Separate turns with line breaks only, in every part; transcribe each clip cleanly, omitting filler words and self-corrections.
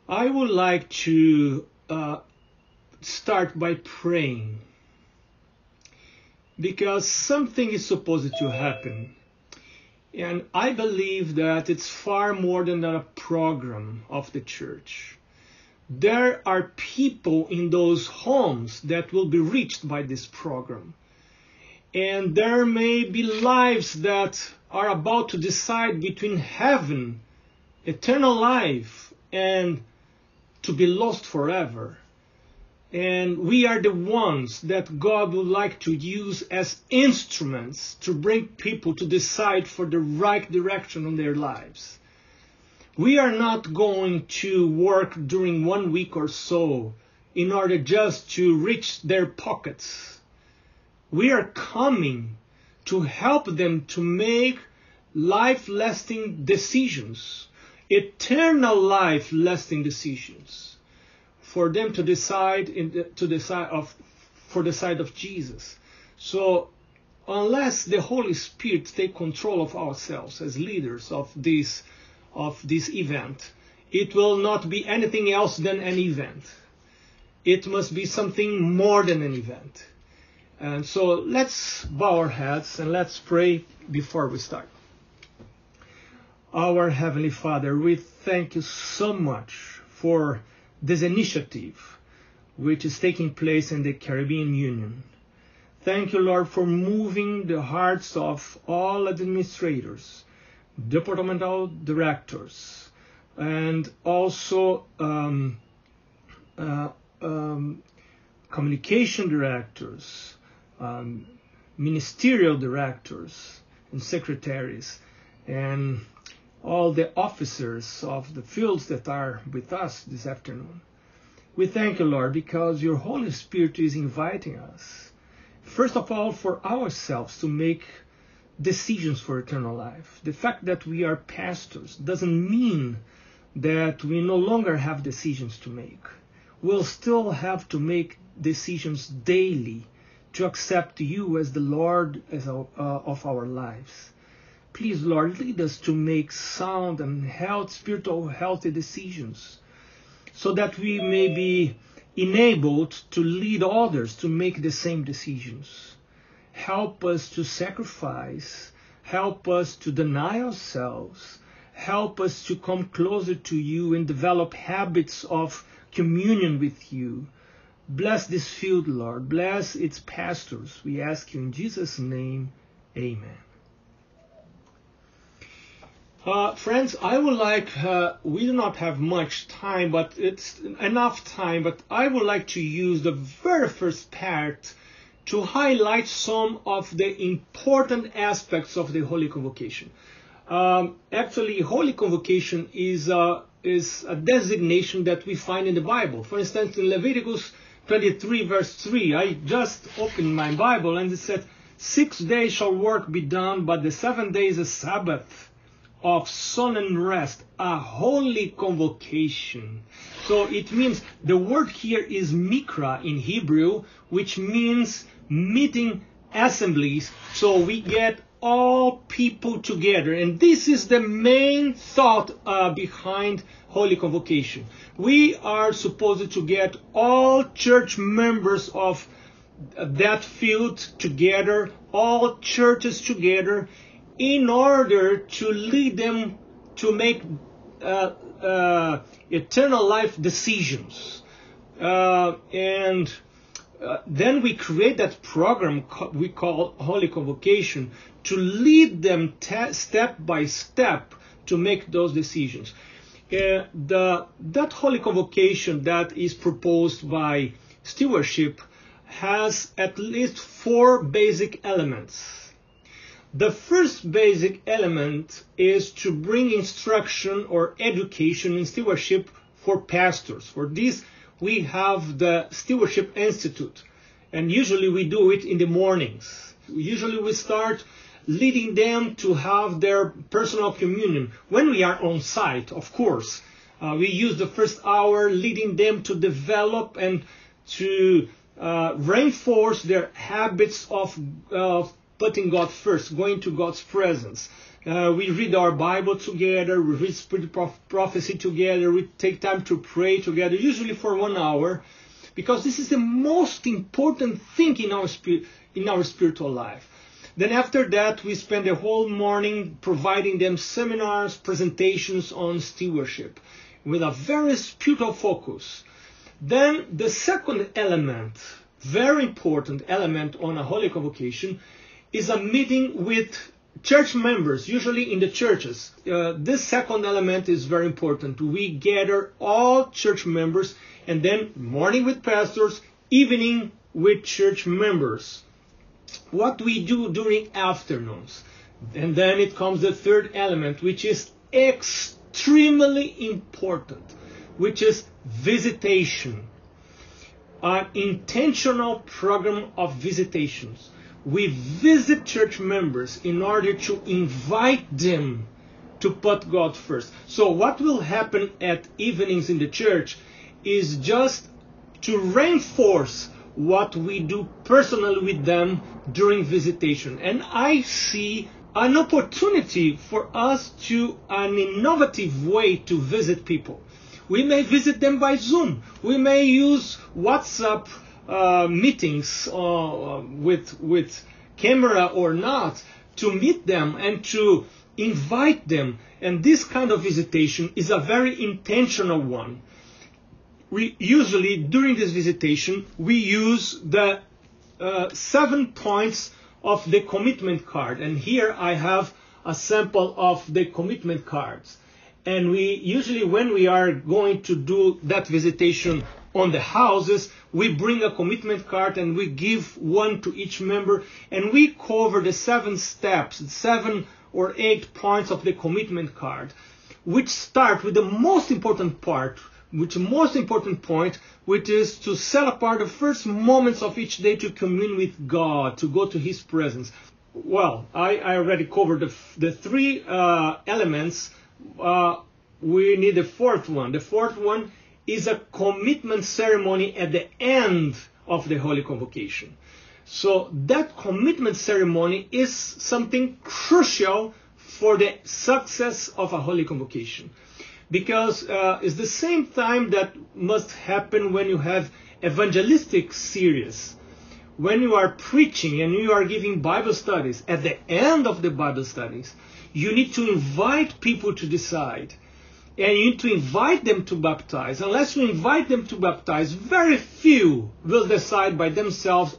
I would like to start by praying, because something is supposed to happen. And I believe that it's far more than a program of the church. There are people in those homes that will be reached by this program. And there may be lives that are about to decide between heaven, eternal life, and to be lost forever. And we are the ones that God would like to use as instruments to bring people to decide for the right direction in their lives. We are not going to work during 1 week or so in order just to reach their pockets. We are coming to help them to make life-lasting decisions, eternal life-lasting decisions, for them to decide for the side of Jesus. So unless the Holy Spirit take control of ourselves as leaders of this event, it will not be anything else than an event. It must be something more than an event. And so let's bow our heads and let's pray before we start. Our Heavenly Father, we thank you so much for this initiative which is taking place in the Caribbean Union. Thank you, Lord, for moving the hearts of all administrators, departmental directors, and also communication directors, ministerial directors and secretaries, and all the officers of the fields that are with us this afternoon. We thank you, Lord, because your Holy Spirit is inviting us, first of all, for ourselves to make decisions for eternal life. The fact that we are pastors doesn't mean that we no longer have decisions to make. We'll still have to make decisions daily to accept you as the Lord of our lives. Please, Lord, lead us to make sound and spiritual healthy decisions, so that we may be enabled to lead others to make the same decisions. Help us to sacrifice. Help us to deny ourselves. Help us to come closer to you and develop habits of communion with you. Bless this field, Lord. Bless its pastors. We ask you in Jesus' name. Amen. Friends, I would like, we do not have much time, but it's enough time, but I would like to use the very first part to highlight some of the important aspects of the Holy Convocation. Actually, Holy Convocation is a designation that we find in the Bible. For instance, in Leviticus 23 verse 3, I just opened my Bible and it said, 6 days shall work be done, but the 7th day is a Sabbath of solemn rest, a holy convocation. So it means, the word here is mikra in Hebrew, which means meeting assemblies. So we get all people together. And this is the main thought behind Holy Convocation. We are supposed to get all church members of that field together, all churches together, in order to lead them to make eternal life decisions. And then we create that program we call Holy Convocation to lead them step by step to make those decisions. That Holy Convocation that is proposed by stewardship has at least 4 basic elements. The first basic element is to bring instruction or education in stewardship for pastors. For this, we have the Stewardship Institute, and usually we do it in the mornings. Usually we start leading them to have their personal communion. When we are on site, of course, we use the first hour leading them to develop and to reinforce their habits of putting God first, going to God's presence, We read our Bible together, we read Spirit Prophecy together, we take time to pray together, usually for 1 hour, because this is the most important thing in our spiritual life. Then after that, we spend the whole morning providing them seminars, presentations on stewardship, with a very spiritual focus. Then the second element, very important element on a Holy Convocation, is a meeting with church members, usually in the churches. This second element is very important. We gather all church members, and then morning with pastors, evening with church members. What we do during afternoons. And then it comes the third element, which is extremely important, which is visitation. An intentional program of visitations. We visit church members in order to invite them to put God first. So what will happen at evenings in the church is just to reinforce what we do personally with them during visitation. And I see an opportunity for us to an innovative way to visit people. We may visit them by Zoom. We may use WhatsApp meetings with camera or not to meet them and to invite them. And this kind of visitation is a very intentional one. We usually, during this visitation, we use the 7 points of the commitment card. And here I have a sample of the commitment cards. And we usually, when we are going to do that visitation on the houses, we bring a commitment card and we give one to each member, and we cover the 7 steps, 7 or 8 points of the commitment card, which start with the most important point, which is to set apart the first moments of each day to commune with God, to go to His presence. Well, I already covered the 3 elements. We need the fourth one. The fourth one is a commitment ceremony at the end of the Holy Convocation. So that commitment ceremony is something crucial for the success of a Holy Convocation. Because it's the same time that must happen when you have evangelistic series. When you are preaching and you are giving Bible studies, at the end of the Bible studies, you need to invite people to decide. And you need to invite them to baptize. Unless you invite them to baptize, very few will decide by themselves,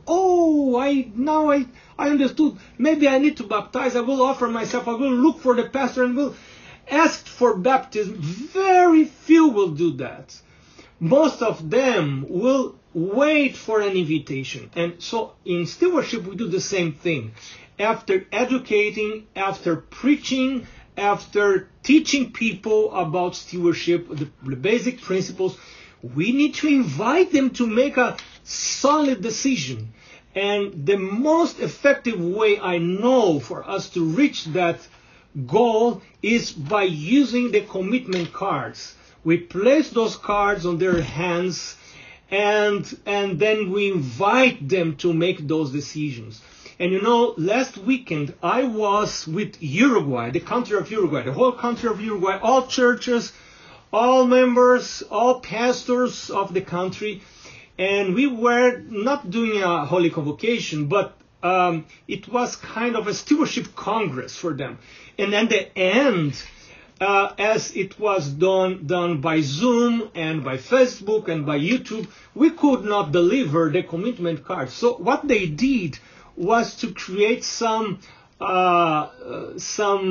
I understood, maybe I need to baptize, I will offer myself, I will look for the pastor and will ask for baptism. Very few will do that. Most of them will wait for an invitation. And so in stewardship we do the same thing. After educating, after preaching, after teaching people about stewardship, the basic principles, we need to invite them to make a solid decision. And the most effective way I know for us to reach that goal is by using the commitment cards. We place those cards on their hands and then we invite them to make those decisions. And you know, last weekend I was with Uruguay, the country of Uruguay, the whole country of Uruguay, all churches, all members, all pastors of the country. And we were not doing a Holy Convocation, but it was kind of a stewardship congress for them. And at the end, as it was done by Zoom and by Facebook and by YouTube, we could not deliver the commitment cards. So what they did was to create some files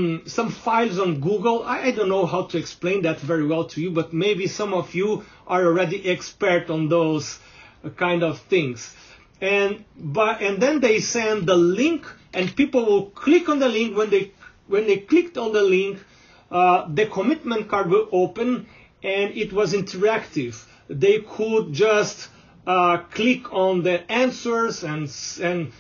on Google. I don't know how to explain that very well to you, but maybe some of you are already expert on those kind of things. And then they send the link, and people will click on the link. When they clicked on the link, the commitment card will open, and it was interactive. They could just click on the answers and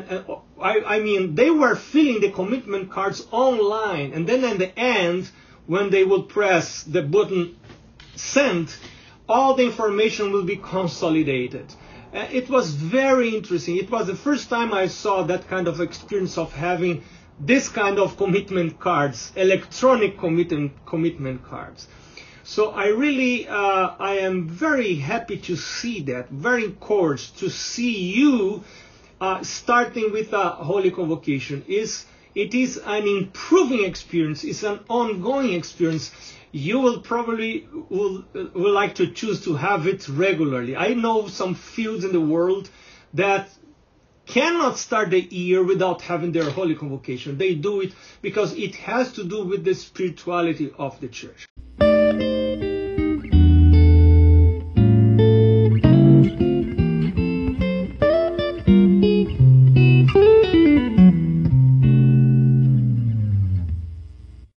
I mean, they were filling the commitment cards online, and then at the end, when they would press the button send, all the information will be consolidated. It was very interesting. It was the first time I saw that kind of experience of having this kind of commitment cards, electronic commitment cards. So I am very happy to see that, very encouraged to see you starting with a Holy Convocation. It is an improving experience. It's an ongoing experience. You will probably will like to choose to have it regularly. I know some fields in the world that cannot start the year without having their Holy Convocation. They do it because it has to do with the spirituality of the church.